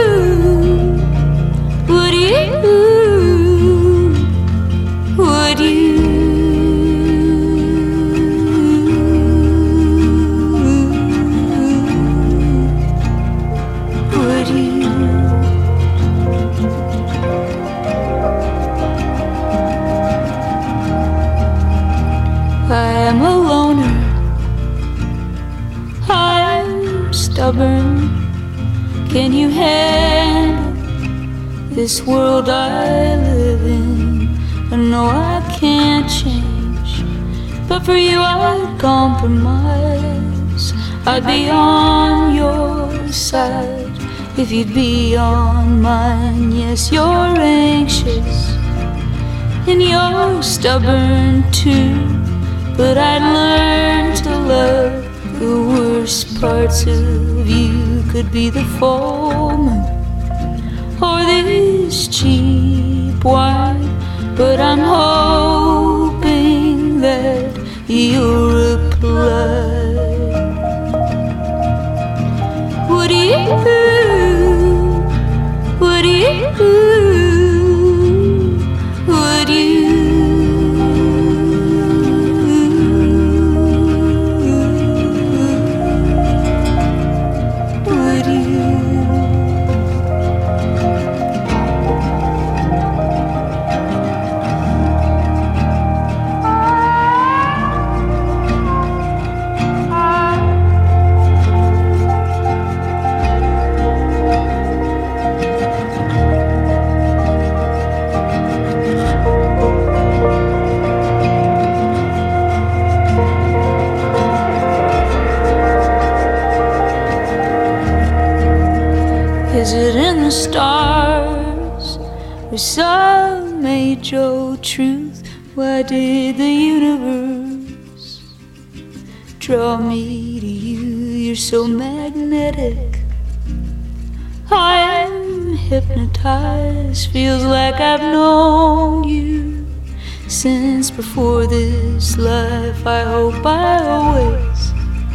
I am a loner, I'm stubborn. Can you handle this world I live in? I know I can't change, but for you I'd compromise. I'd be on your side if you'd be on mine. Yes, you're anxious and you're stubborn too, but I'd learn to love the worst parts of you. Could be the foreman or this cheap wine, but I'm hoping that you'll reply. Would you Is it in the stars or some age-old truth? Why did the universe draw me to you? You're so magnetic, I'm hypnotized. Feels like I've known you since before this life. I hope I always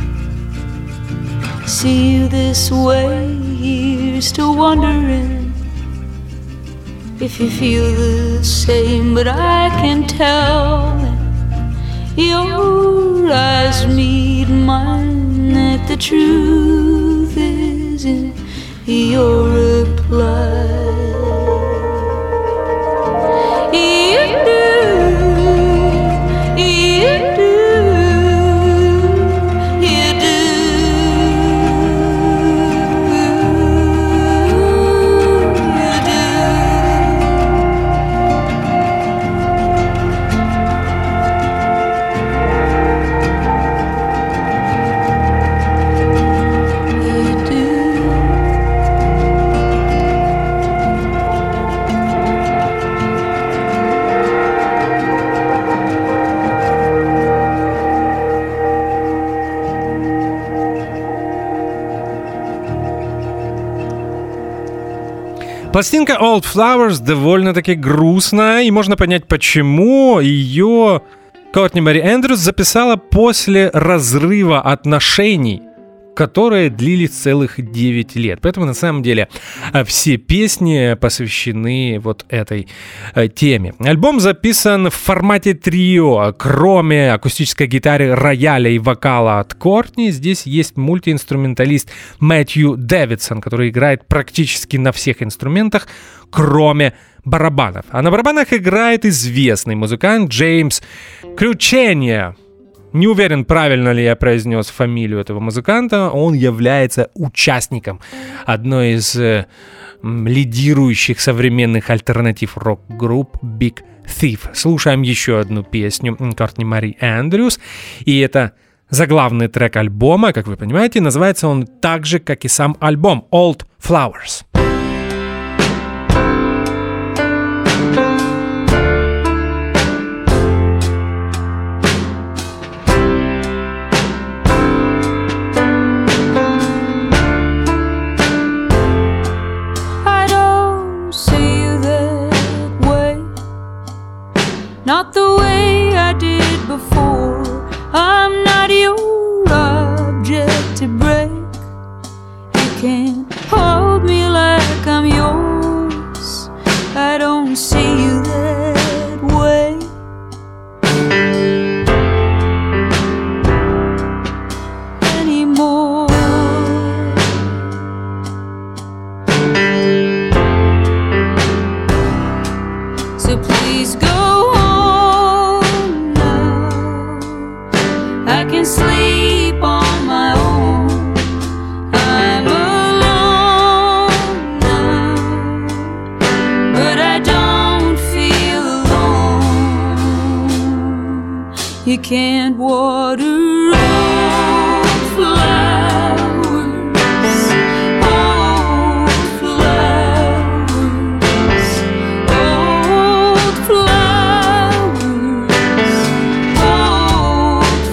see you this way. You're still wondering if you feel the same, but I can tell when your eyes meet mine that the truth is in your reply. Пластинка Old Flowers довольно-таки грустная, и можно понять, почему. Ее Кортни Мэри Эндрюс записала после разрыва отношений, которые длились целых 9 лет. Поэтому на самом деле все песни посвящены вот этой теме. Альбом записан в формате трио. Кроме акустической гитары, рояля и вокала от Кортни, здесь есть мультиинструменталист Мэтью Дэвидсон, который играет практически на всех инструментах, кроме барабанов. А на барабанах играет известный музыкант Джеймс Кручения. Не уверен, правильно ли я произнес фамилию этого музыканта. Он является участником одной из лидирующих современных альтернатив рок-групп Big Thief. Слушаем еще одну песню Кортни Мари Эндрюс. И это заглавный трек альбома, как вы понимаете. Называется он так же, как и сам альбом, Old Flowers. Not the way I did before. I'm not your object to break. You can't hold me like I'm yours. I don't see you that way. Anymore. So please go. I can sleep on my own. I'm alone now, but I don't feel alone. You can't water old flowers, old flowers, old flowers, old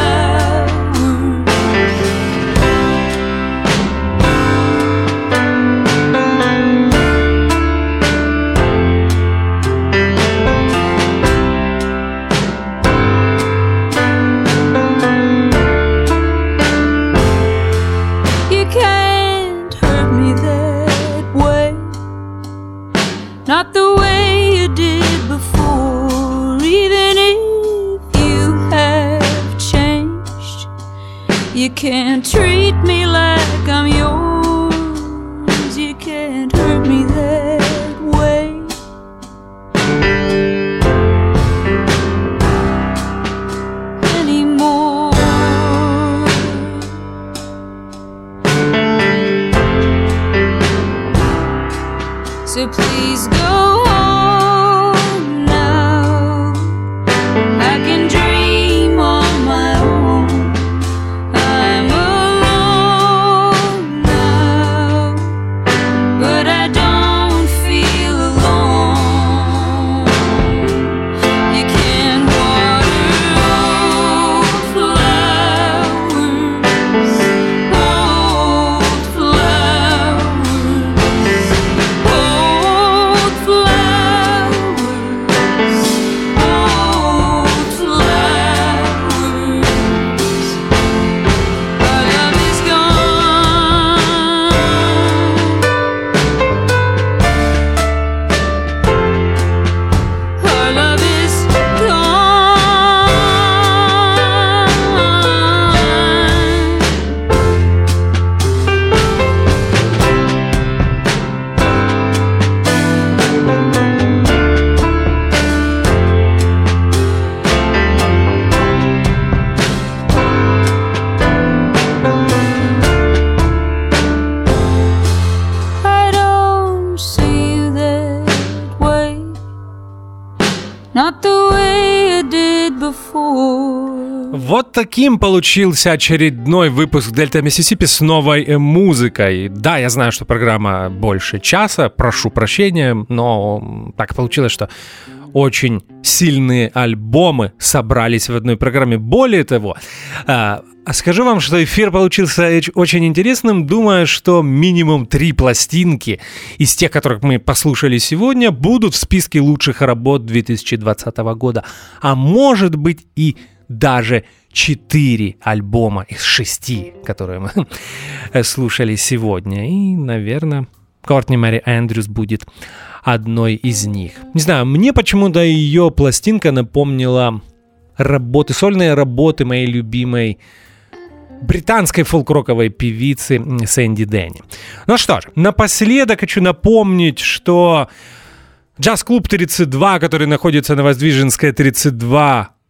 not the way you did before. Even if you have changed, you can't treat me like I'm yours. You can't hurt me that way. Anymore. So please go home now. I can dream on my own. I'm alone now, but I don't feel alone. You can't water old flowers, old flowers, old flowers, old flowers. Our love is gone. Our love is gone. I don't see you that way. Not the way I did before. Вот таким получился очередной выпуск Дельта Миссисипи с новой музыкой. Да, я знаю, что программа больше часа, прошу прощения, но так получилось, что очень сильные альбомы собрались в одной программе. Более того, скажу вам, что эфир получился очень интересным. Думаю, что минимум 3 пластинки из тех, которых мы послушали сегодня, будут в списке лучших работ 2020 года. А может быть и даже 4 альбома из 6, которые мы слушали сегодня. И, наверное, Кортни Мари Эндрюс будет одной из них. Не знаю, мне почему-то ее пластинка напомнила сольные работы моей любимой британской фолк-роковой певицы Сэнди Дэнни. Ну что ж, напоследок хочу напомнить, что Джаз-клуб 32, который находится на Воздвиженской 32,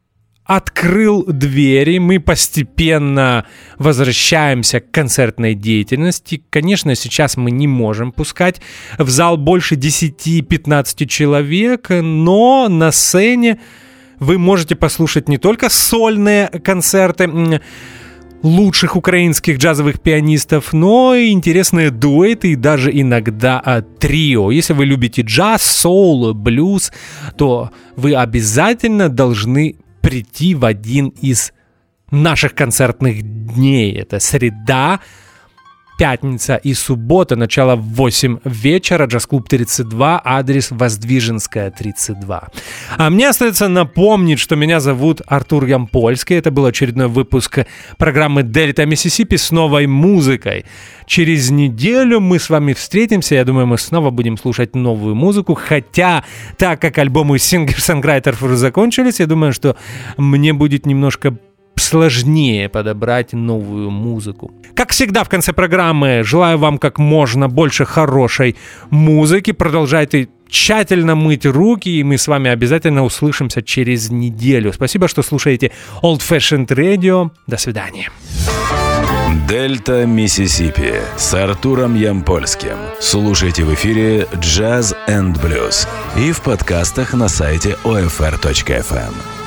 открыл двери, мы постепенно возвращаемся к концертной деятельности. Конечно, сейчас мы не можем пускать в зал больше 10-15 человек, но на сцене вы можете послушать не только сольные концерты лучших украинских джазовых пианистов, но и интересные дуэты и даже иногда трио. Если вы любите джаз, соул, блюз, то вы обязательно должны прийти в один из наших концертных дней. Это среда, пятница и суббота, начало в 8 вечера, джаз-клуб 32, адрес Воздвиженская, 32. А мне остается напомнить, что меня зовут Артур Ямпольский. Это был очередной выпуск программы «Дельта Миссисипи» с новой музыкой. Через неделю мы с вами встретимся. Я думаю, мы снова будем слушать новую музыку. Хотя, так как альбомы сингер-сонграйтеров уже закончились, я думаю, что мне будет немножко сложнее подобрать новую музыку. Как всегда в конце программы желаю вам как можно больше хорошей музыки. Продолжайте тщательно мыть руки, и мы с вами обязательно услышимся через неделю. Спасибо, что слушаете Old Fashioned Radio. До свидания. Дельта Миссисипи с Артуром Ямпольским. Слушайте в эфире Jazz and Blues и в подкастах на сайте OFR.FM.